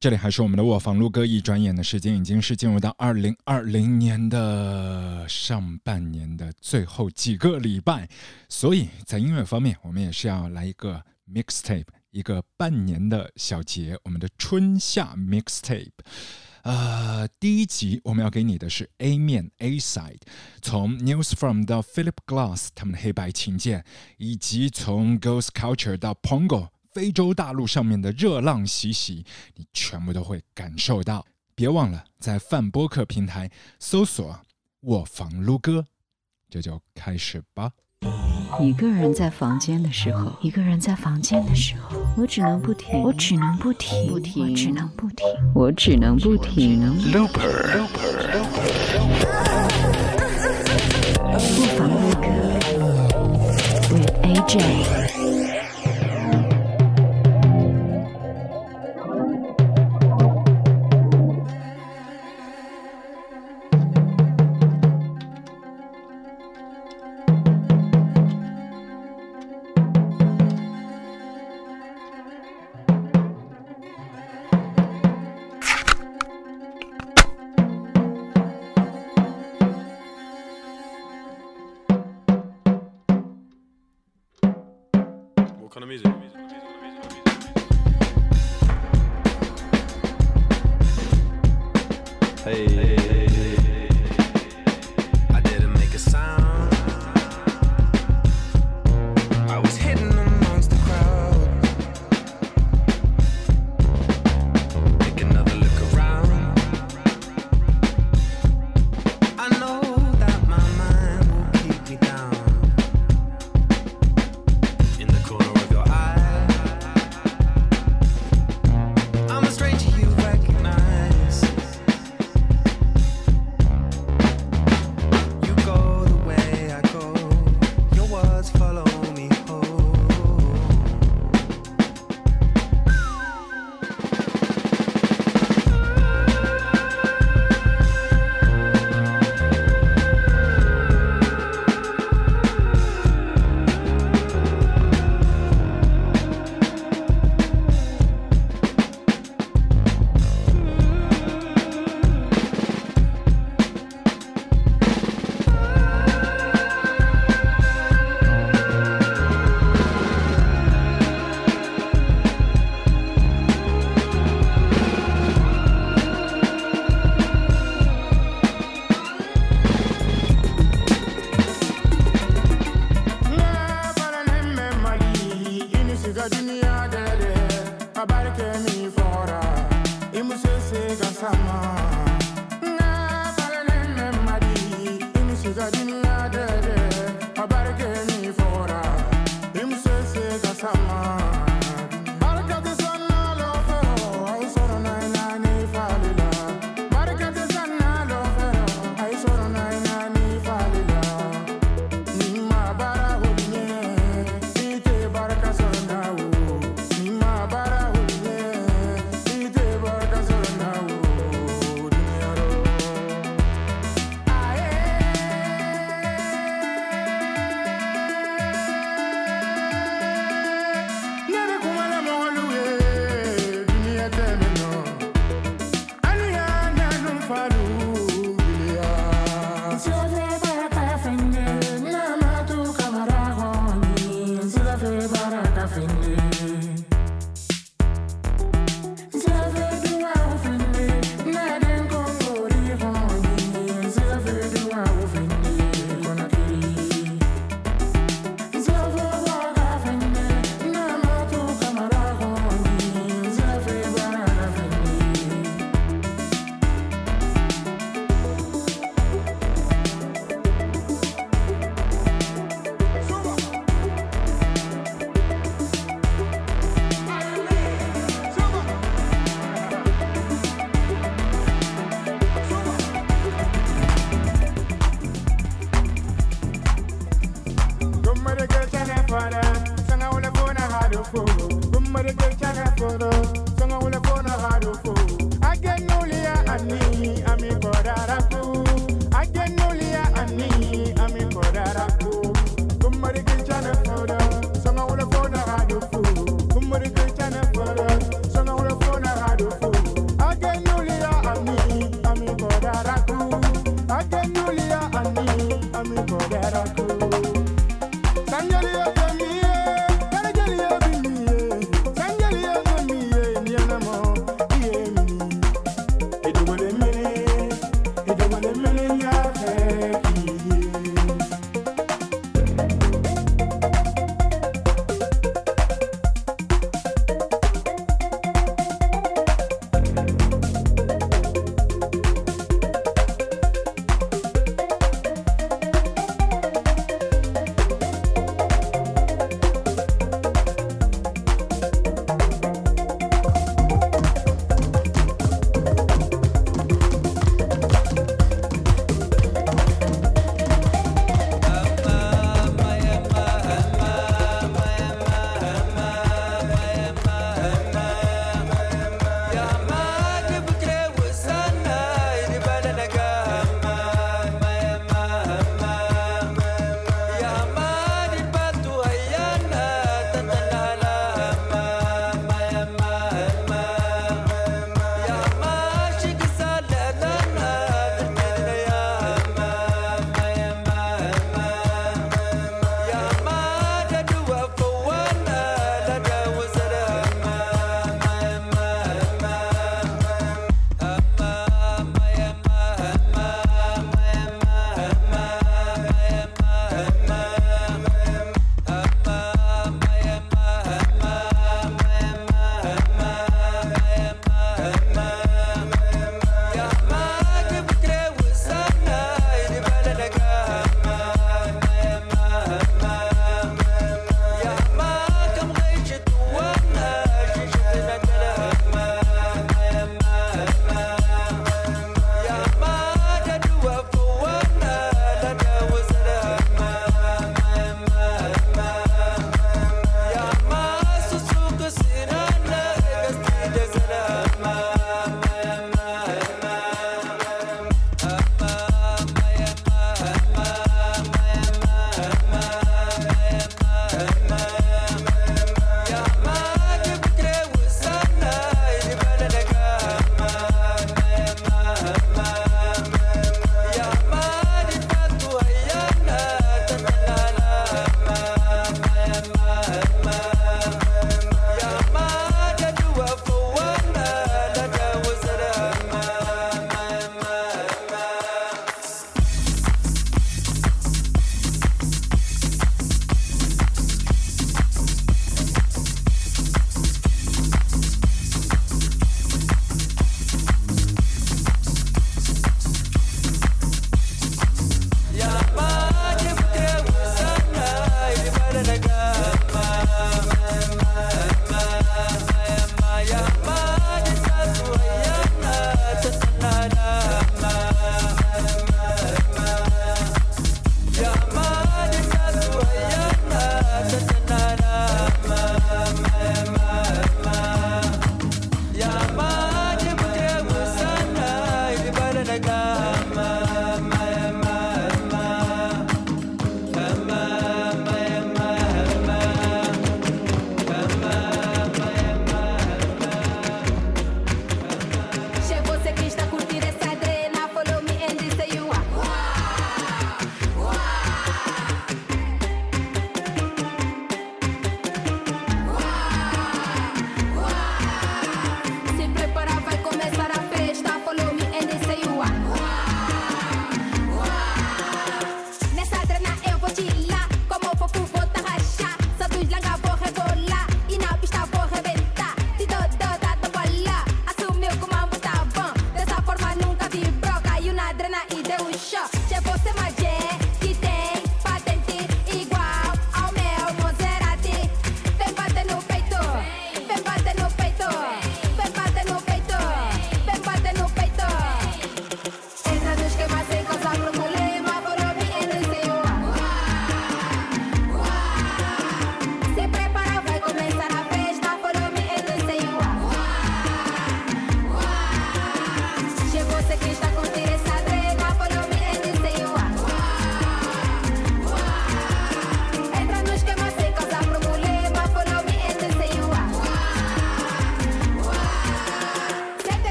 这里还是我们的卧房录歌，一转眼的时间已经是进入到2020年的上半年的最后几个礼拜，所以在音乐方面我们也是要来一个 mixtape， 一个半年的小节，我们的春夏 mixtape。第一集我们要给你的是 A 面 A side， 从 News From 到 Philip Glass 他们的黑白琴键，以及从 Ghost Culture 到 Pongo非洲大陆上面的热浪习习，你全部都会感受到。别忘了在泛播客平台搜索卧房撸歌，这就开始吧。 一个人在房间的时候，我只能不停，我只能不停 Looper 卧房撸歌 with AJ。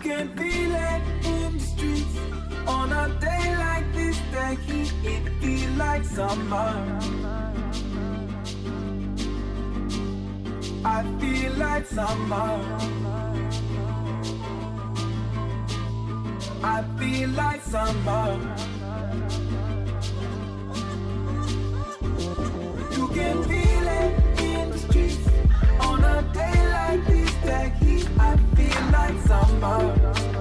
can feel it in the streets. On a day like this, the heat, it feel like summer. I feel like summer. I feel like summer. You can feel it in the streets. On a day like this, the heat, I feel like summer.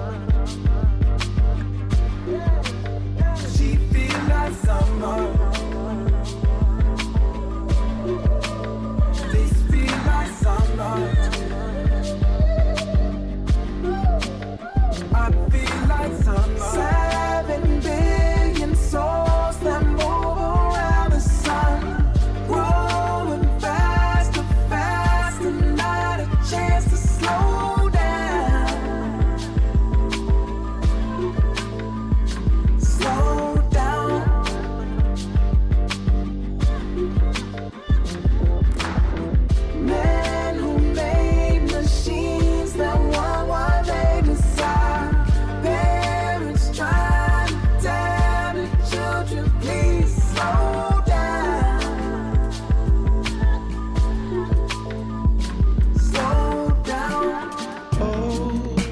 She feel like summer. This feel like summer. I feel like summer. 7 billion souls that move around the sun, growing faster, faster, not a chance to slow down. Slow down. Men who made machines that want what they desire. Parents trying to tell the children, please slow down. Slow down. Oh,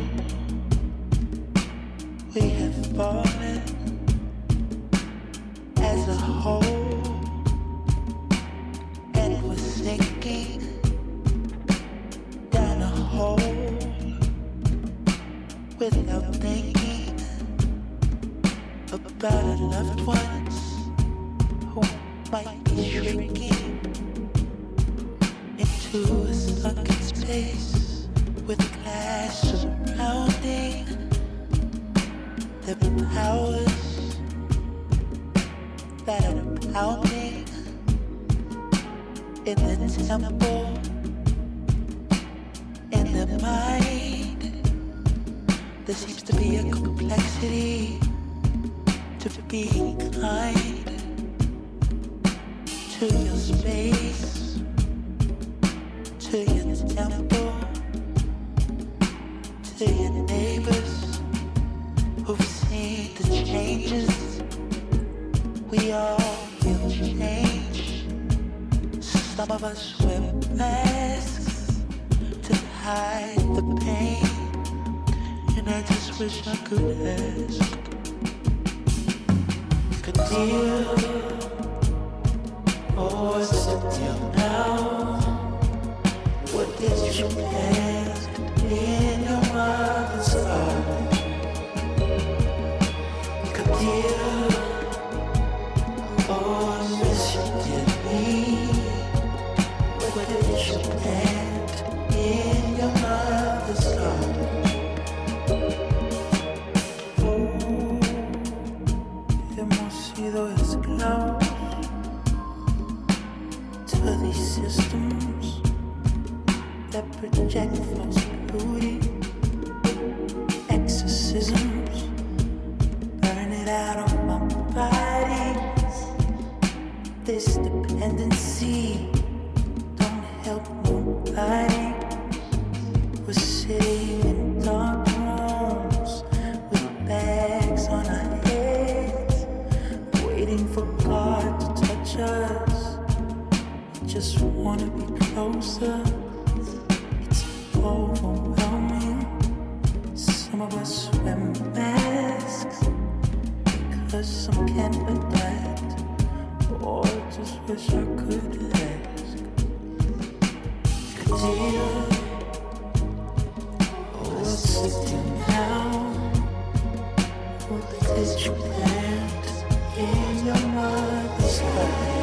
we have fallen as a whole, and we're sinking down a hole without thinking about our loved ones who might be shrinking into a sunken space with glass surrounding the powers that are pounding in the temple, in the mind. There seems to be a complexity to being kind to your space, to your temple, to your neighbors who've seen the changes. We all feel change. Some of us wear masks to hide the pain, and I just wish I could ask. Good deal, oh, what's the deal now? What did you plant in your mother's garden? Good deal, oh, I miss you dearly. What did you plant in your mother's garden? Hemos sido esclavos to these systems that project false beauty, exorcisms, burn it out of my body. This dependency don't help nobody. We're sitting in dark rooms with bags on our heads, waiting for God to touch us. We just wanna be closer. It's overwhelming. Some of us wear masks because some can't adapt, or just wish I could ask. Good deal, oh, what's the deal now? What did you plant in your mother's garden?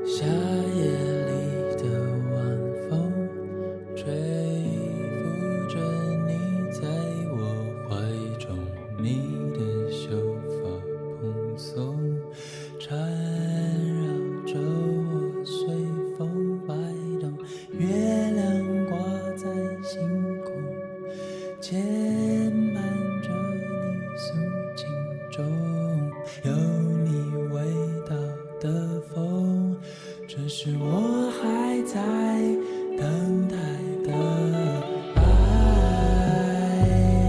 夏夜里的晚风吹拂着你在我怀中，你的秀发蓬松缠绕着我，随风摆动，月亮挂在星空，牵绊着你素净中，有你味道的风，这是我还在等待的爱。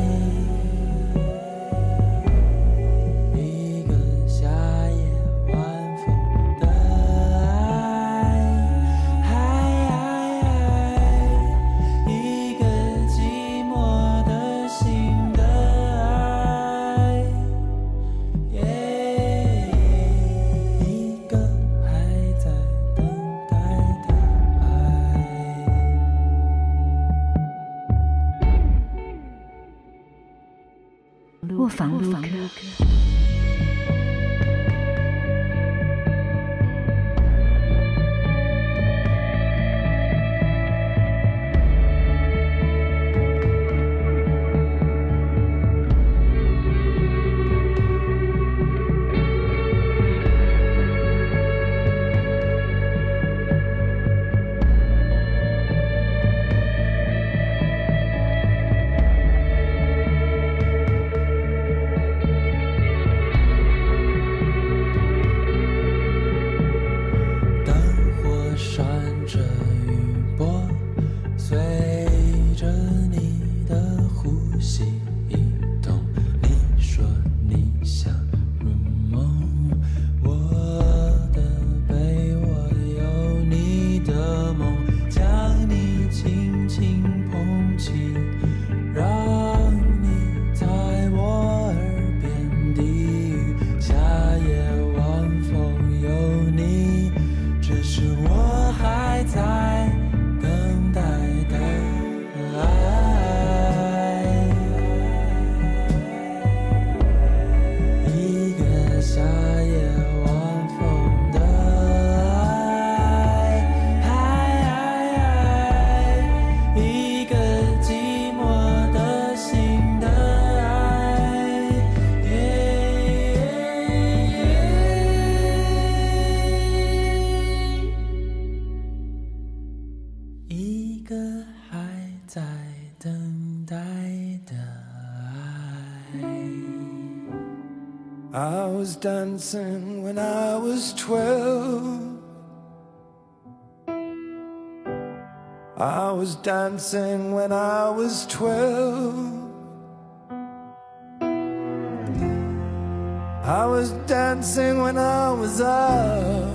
一个夏夜晚风的爱，一个寂寞的心的爱，一个还在等待的爱。 卧房录歌。 灯火闪着余波，随着你的呼吸移动。你说你想入梦，我的被窝有你的梦，将你轻轻捧起，让你在我耳边低语。夏夜晚风有你，这是我还在等待的爱。一个夏夜晚风的爱，一个寂寞的心的爱，一个还在等待的爱。 I was dancing when I was 12. I was dancing when I was 12. I was dancing when I was out.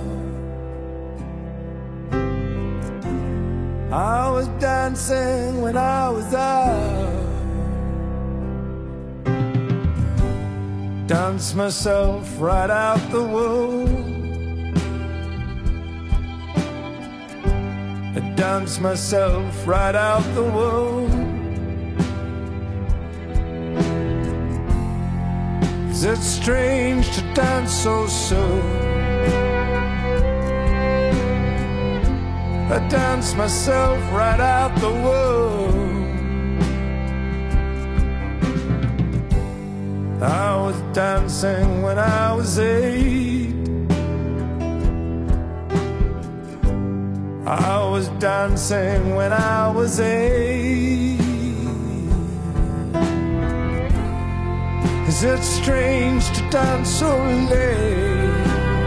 I was dancing when I was out. Dance myself right out the womb. I dance myself right out the womb. 'Cause it's strange to dance so soon. I dance myself right out the womb. I was dancing when I was 8. I was dancing when I was 8. 'Cause it's strange to dance so late.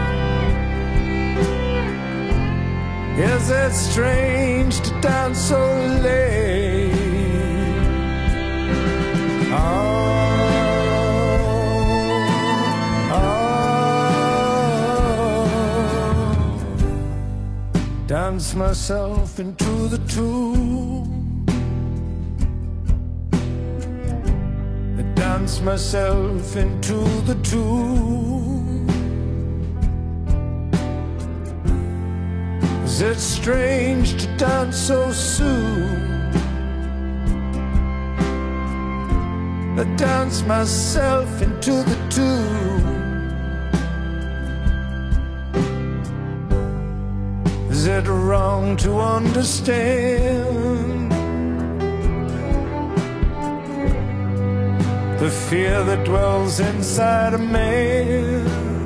Yes, it's strange to dance so late. Dance myself into the tomb. I dance myself into the tomb. 'Cause it's strange to dance so soon. I dance myself into the tomb. Is it wrong to understand the fear that dwells inside a man?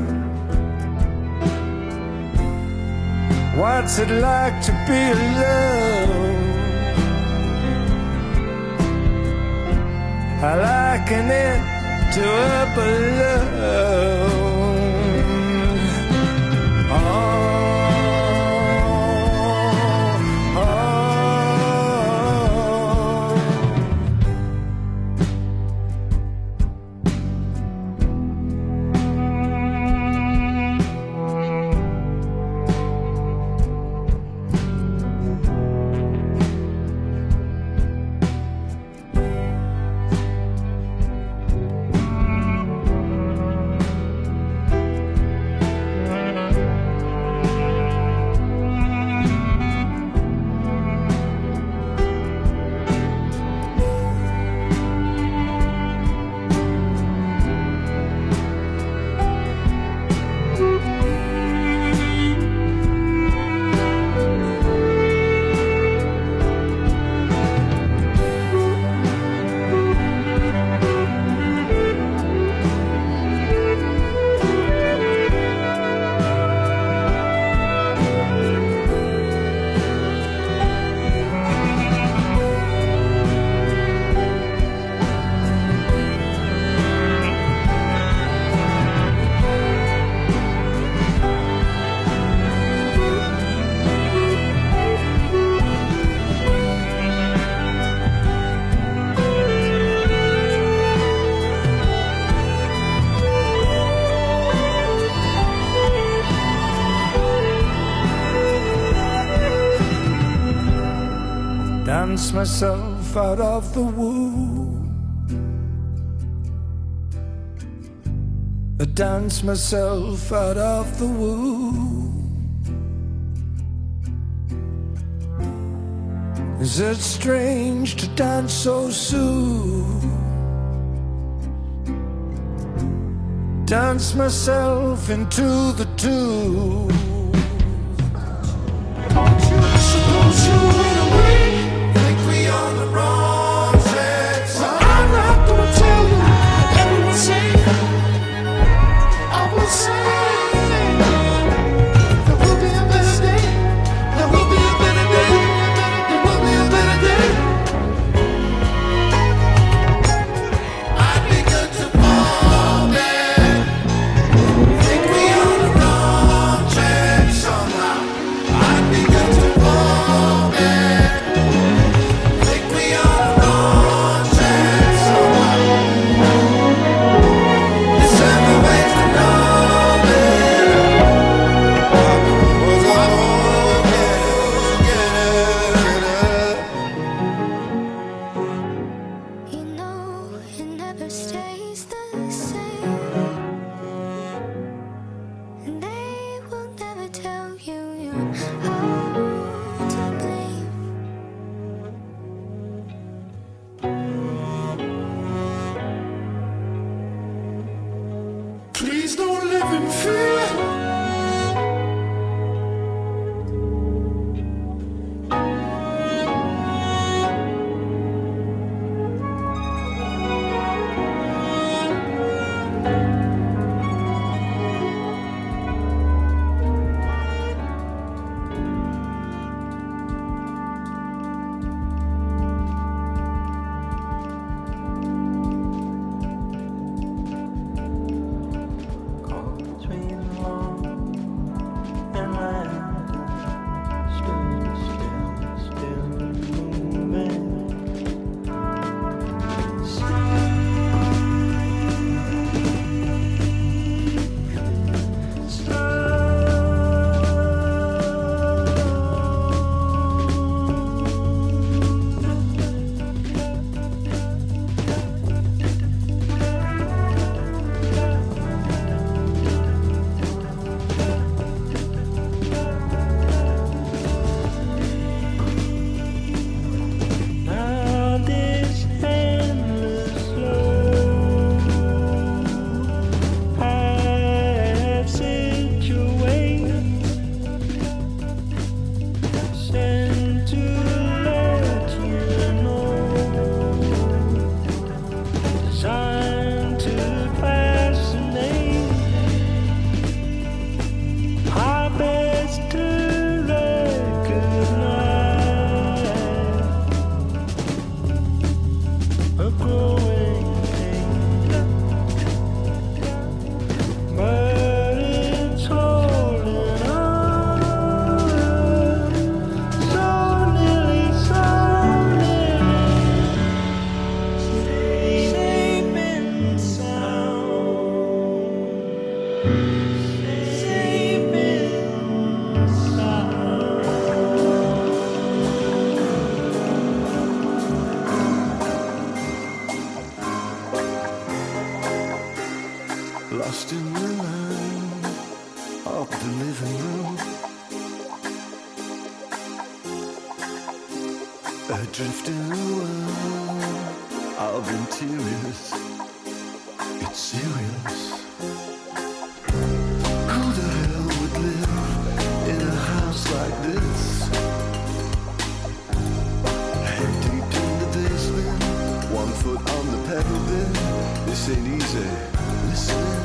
What's it like to be alone? I liken it to a balloon. Dance myself out of the womb. I dance myself out of the womb. Is it strange to dance so soon? Dance myself into the tomb. Suppose you went away. Think we on the wrong track. So I'm not gonna tell you everyone say. I will say there will be a better day. There will be a better day. There will be a better day. I'd be good to fall back. Think we on the wrong track somehow. I'd be good to fall back. the living room. Adrift in a world of interiors. It's serious. Who the hell would live in a house like this? Head deep in the basement, 1 foot on the pedal bin. This ain't easy. Listen.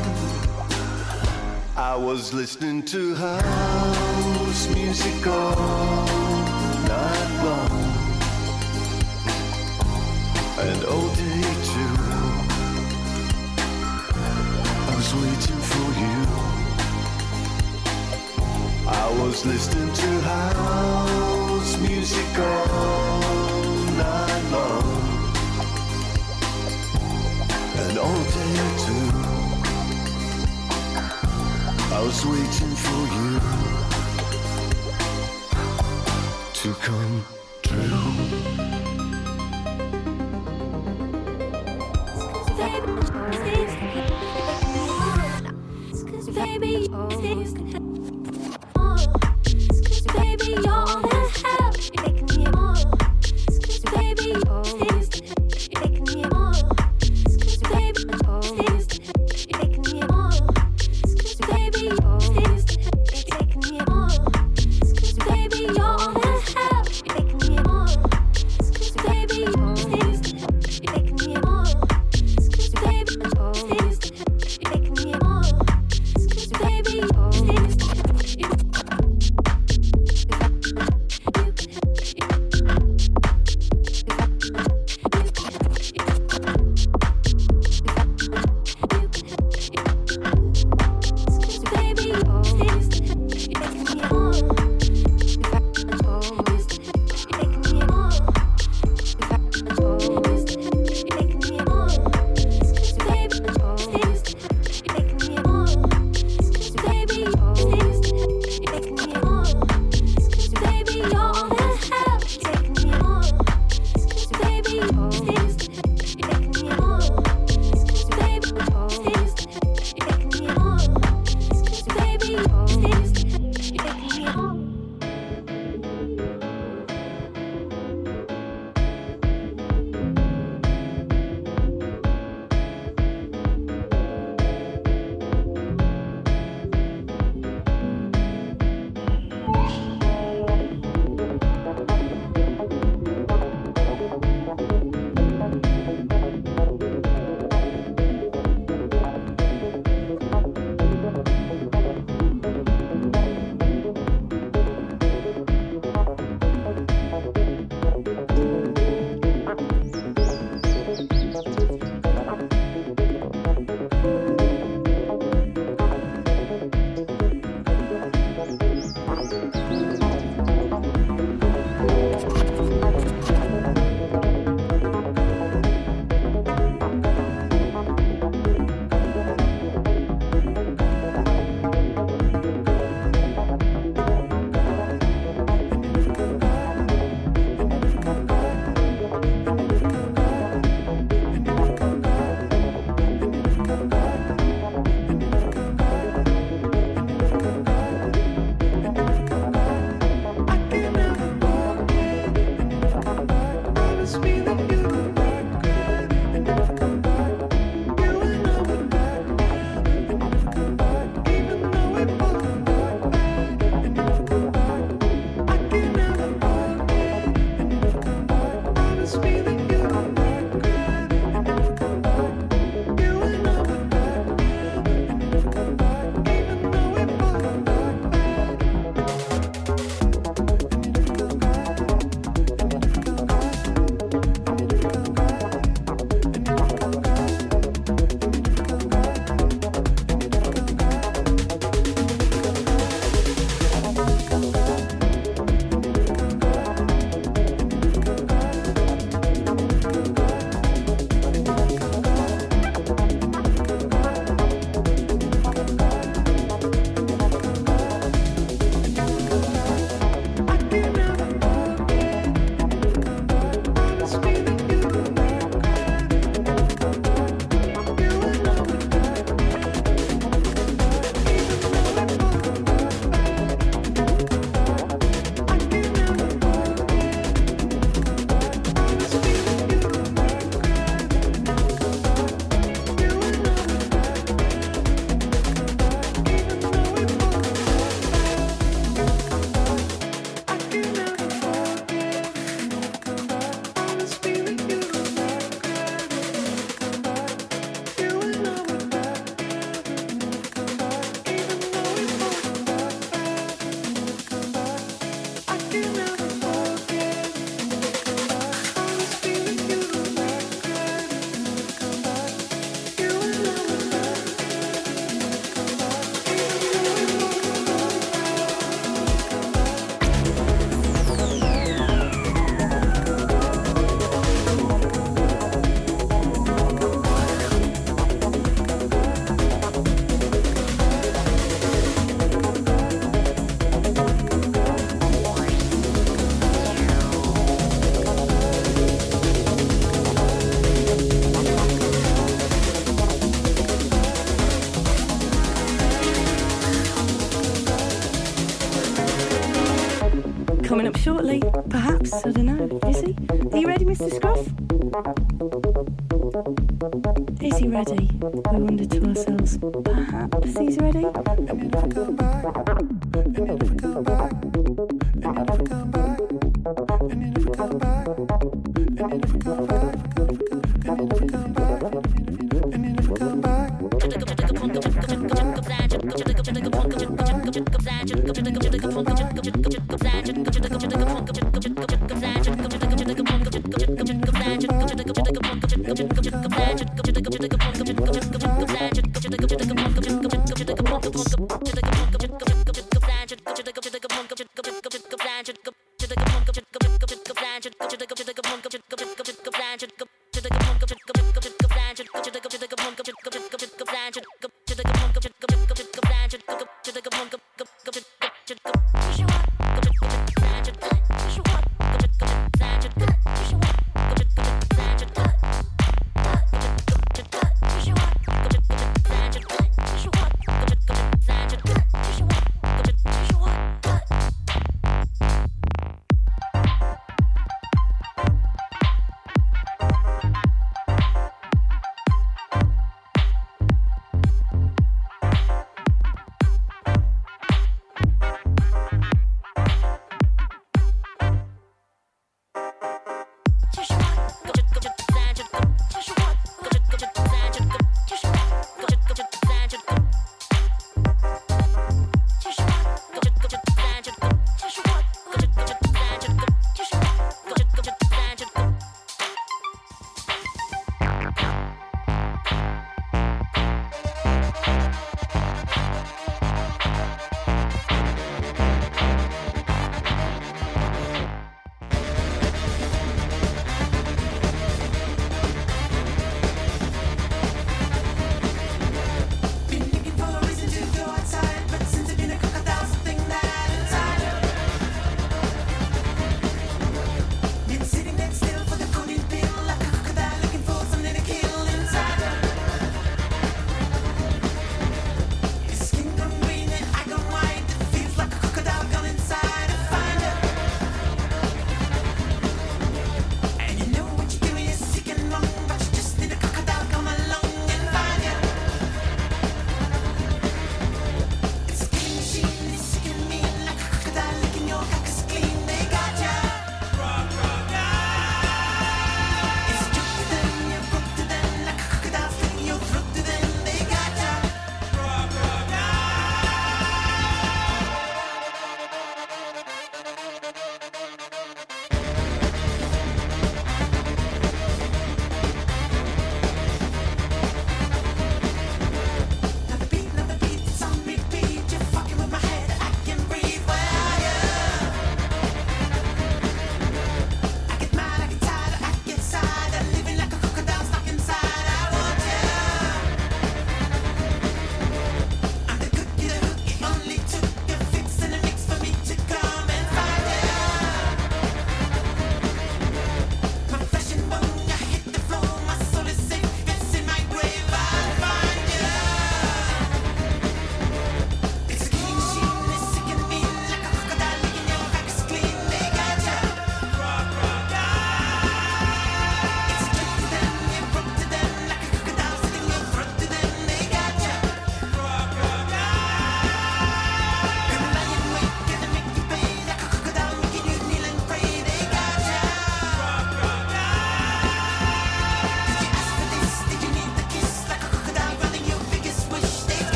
I was listening to house music all night long, and all day too. I was waiting for you. I was listening to house music all night long, and all day too. I was waiting for you to come true. Baby, baby, you're all the help. You're making me more. Baby, you're making me more. Baby, you're making me more. Baby, you're making me more. Baby, you're all the help. You're making me more. Baby, you're making me more. Baby, you're making me more. Baby, baby, coming up shortly. Perhaps, I don't know. Is he? Are you ready, Mr. Scruff? Is he ready? We wonder to ourselves. Perhaps he's ready. And you never come back. And you never come back. And you never come back. And you never come back. And you never come back. And you never come back. And you never come back.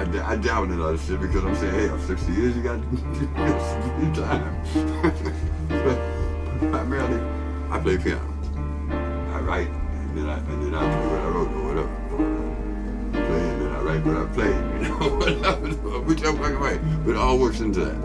I dabble in a lot of shit because I'm saying, hey, I'm 60 years, you got some time. But primarily, I play piano. I write, and then I play what I wrote or whatever. Play, and then I write what I play, you know, whatever, whichever I can write. But it all works into that.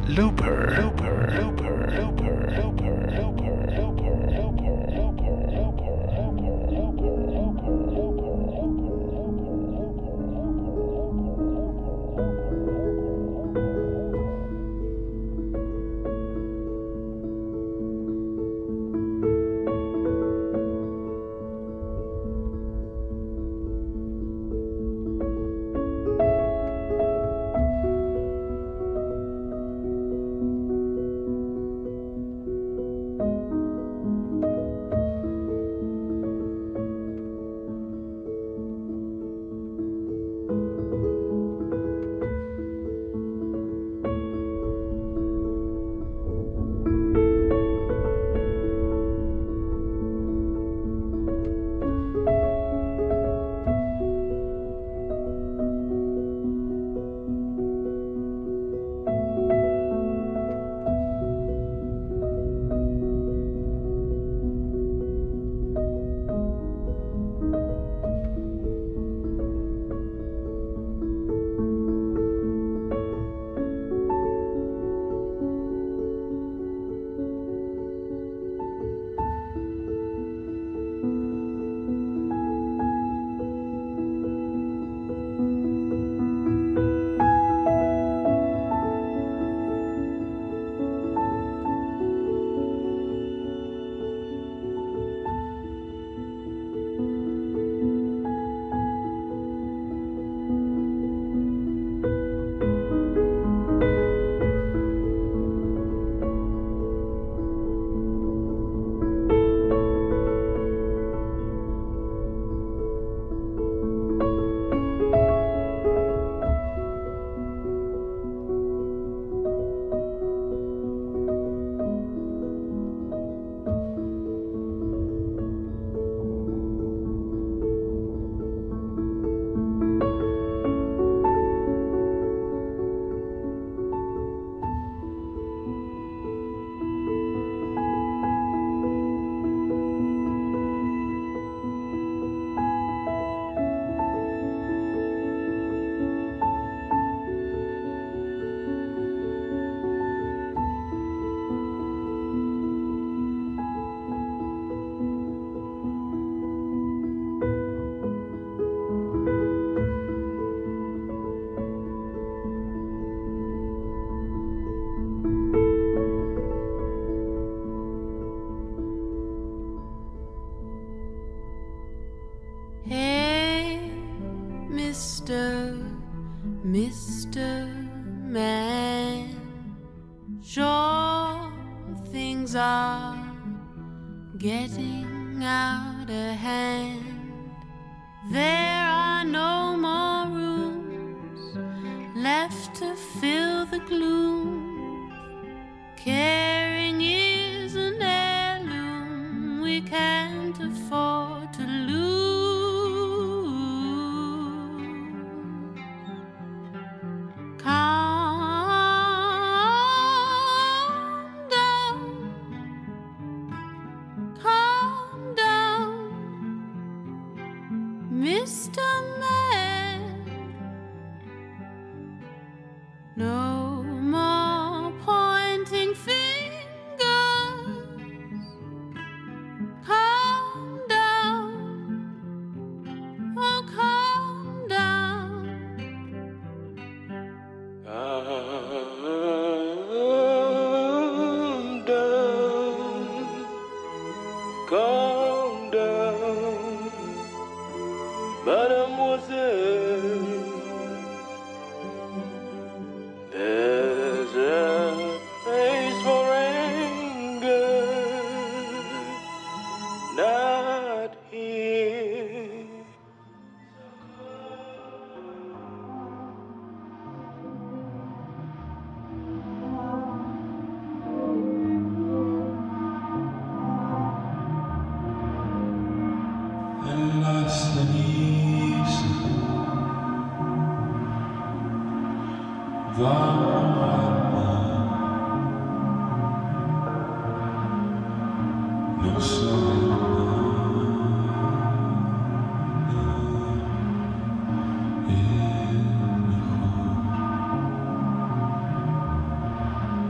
Looper. Mr. Man, sure things are getting out of hand. There are no more rooms left to fill the gloom. Caring is an heirloom we can't afford to lose. Calm down, Mr. Man. No more pointing fingers. Calm down, oh calm down. Calm down, mademoiselle. There's a place for anger, not here. En las cenizas vamos al mar. No sabe nada es mejor.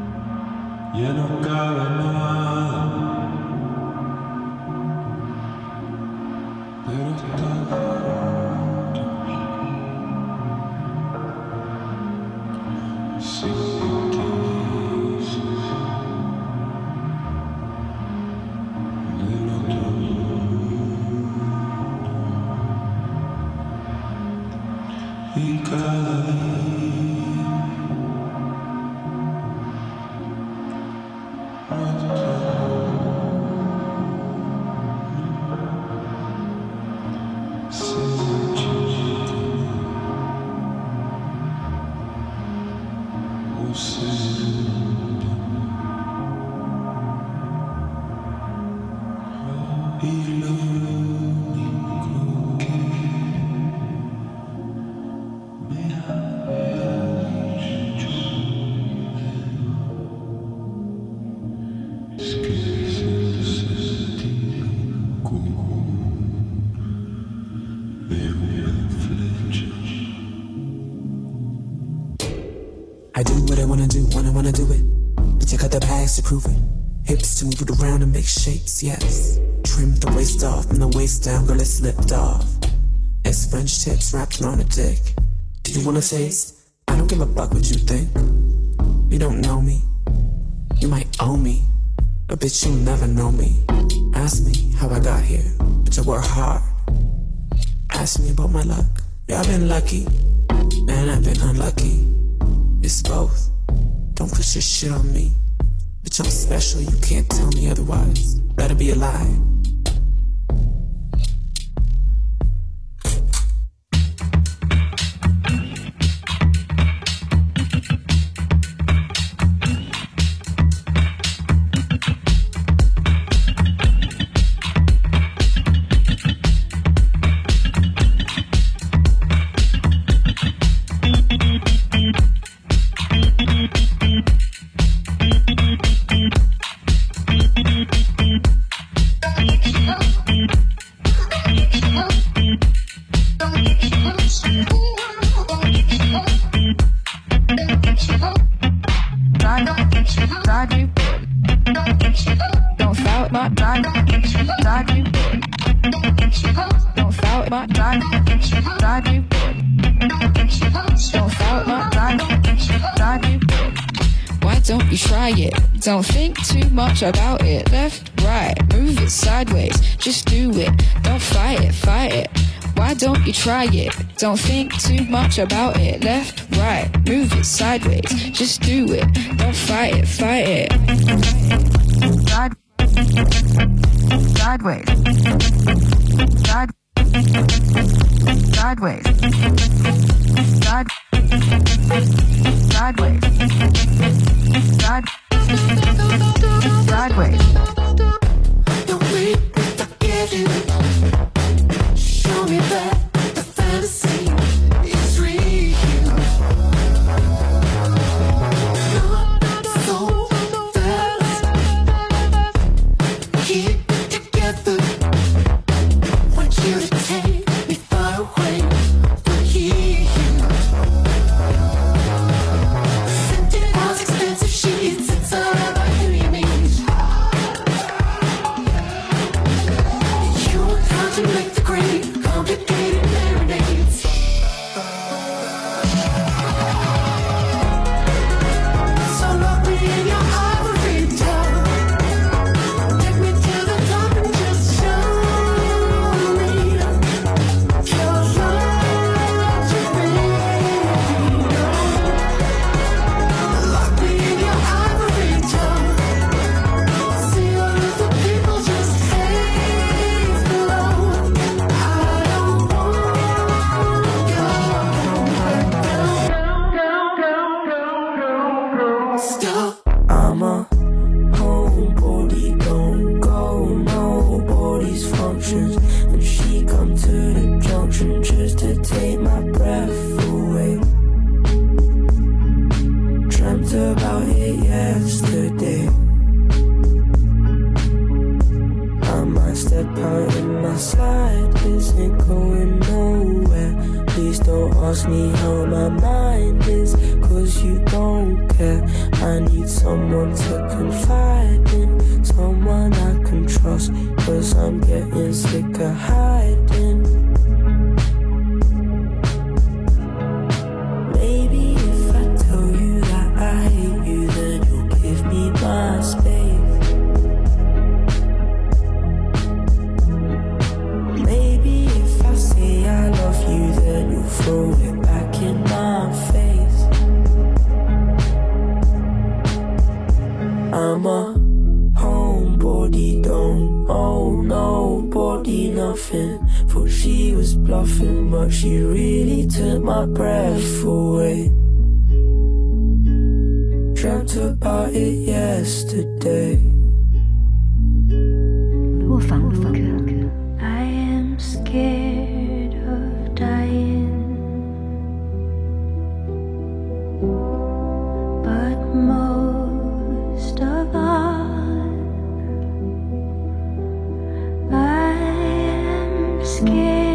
I do what I wanna do when I wanna do it. But you cut the bags to prove it. Hips to move it around and make shapes, yes. Trim the waist off and the waist down, girl, it slipped off. It's French tips wrapped around a dick. Do you wanna taste? I don't give a fuck what you think. You don't know me. You might owe me. But bitch, you'll never know me. Ask me how I got here. Bitch, I work hard. Ask me about my luck. Yeah, I've been lucky. And I've been unlucky. It's both. Don't push your shit on me. Bitch, I'm special, you can't tell me otherwise. Better be a lie. Don't think too much about it. Left, right, move it sideways. Just do it. Don't fight it, fight it. Why don't you try it? Don't think too much about it. Left, right, move it sideways. Just do it. Don't fight it, fight it. Sideways. Sideways. Sideways. Sideways. Don't wait if I get it. Show me that the fantasy is real. Not so fast. Keep it together. Want you to take me far away from here. Scented house, expensive sheets. It's all about who you meet. To make the great complicated marinades. So lock me in your ivory tower. Take me to the top and just show me your lock me in your ivory tower. See all of the people just hate below. I'm a homebody, don't go nobody's functions. And she come to the junction just to take my breath away. Dreamt about it yesterday. I might step out in my slide, isn't going nowhere. Please don't ask me how my mind is, cause you don't care. I need someone to confide in, someone I can trust, 'cause I'm getting sick of hiding. Maybe if I tell you that I hate you, then you'll give me my space. Maybe if I say I love you, then you'll throw it back in my face. I'm a homebody, don't owe nobody nothing. Thought she was bluffing, but she really took my breath away. Dreamt about it yesterday. 卧房录歌 I am scared of dying, but most of all, I am scared